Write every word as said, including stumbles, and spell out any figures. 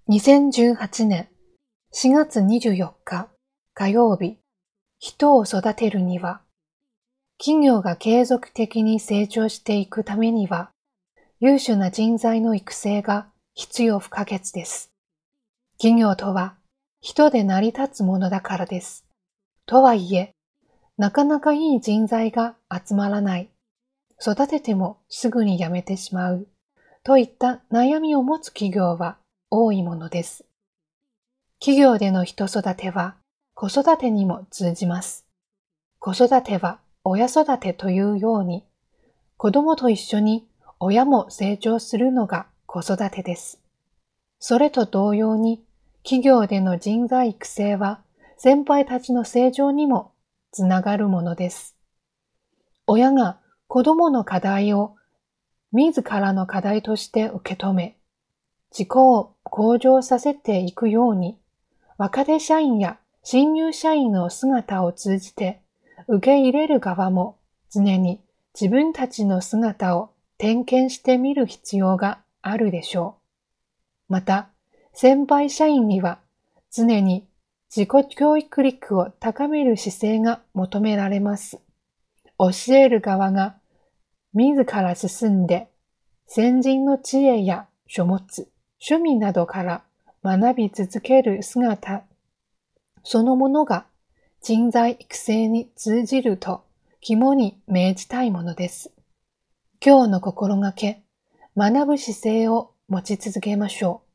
にせんじゅうはちねんしがつにじゅうよっか火曜日、人を育てるには、企業が継続的に成長していくためには、優秀な人材の育成が必要不可欠です。企業とは人で成り立つものだからです。とはいえ、なかなかいい人材が集まらない、育ててもすぐに辞めてしまう、といった悩みを持つ企業は多いものです。企業での人育ては子育てにも通じます。子育ては親育てというように、子供と一緒に親も成長するのが子育てです。それと同様に、企業での人材育成は先輩たちの成長にもつながるものです。親が子供の課題を自らの課題として受け止め、自己を向上させていくように、若手社員や新入社員の姿を通じて、受け入れる側も常に自分たちの姿を点検してみる必要があるでしょう。また、先輩社員には常に自己教育力を高める姿勢が求められます。教える側が自ら進んで、先人の知恵や書物、趣味などから学び続ける姿そのものが人材育成に通じると肝に銘じたいものです。今日の心がけ、学ぶ姿勢を持ち続けましょう。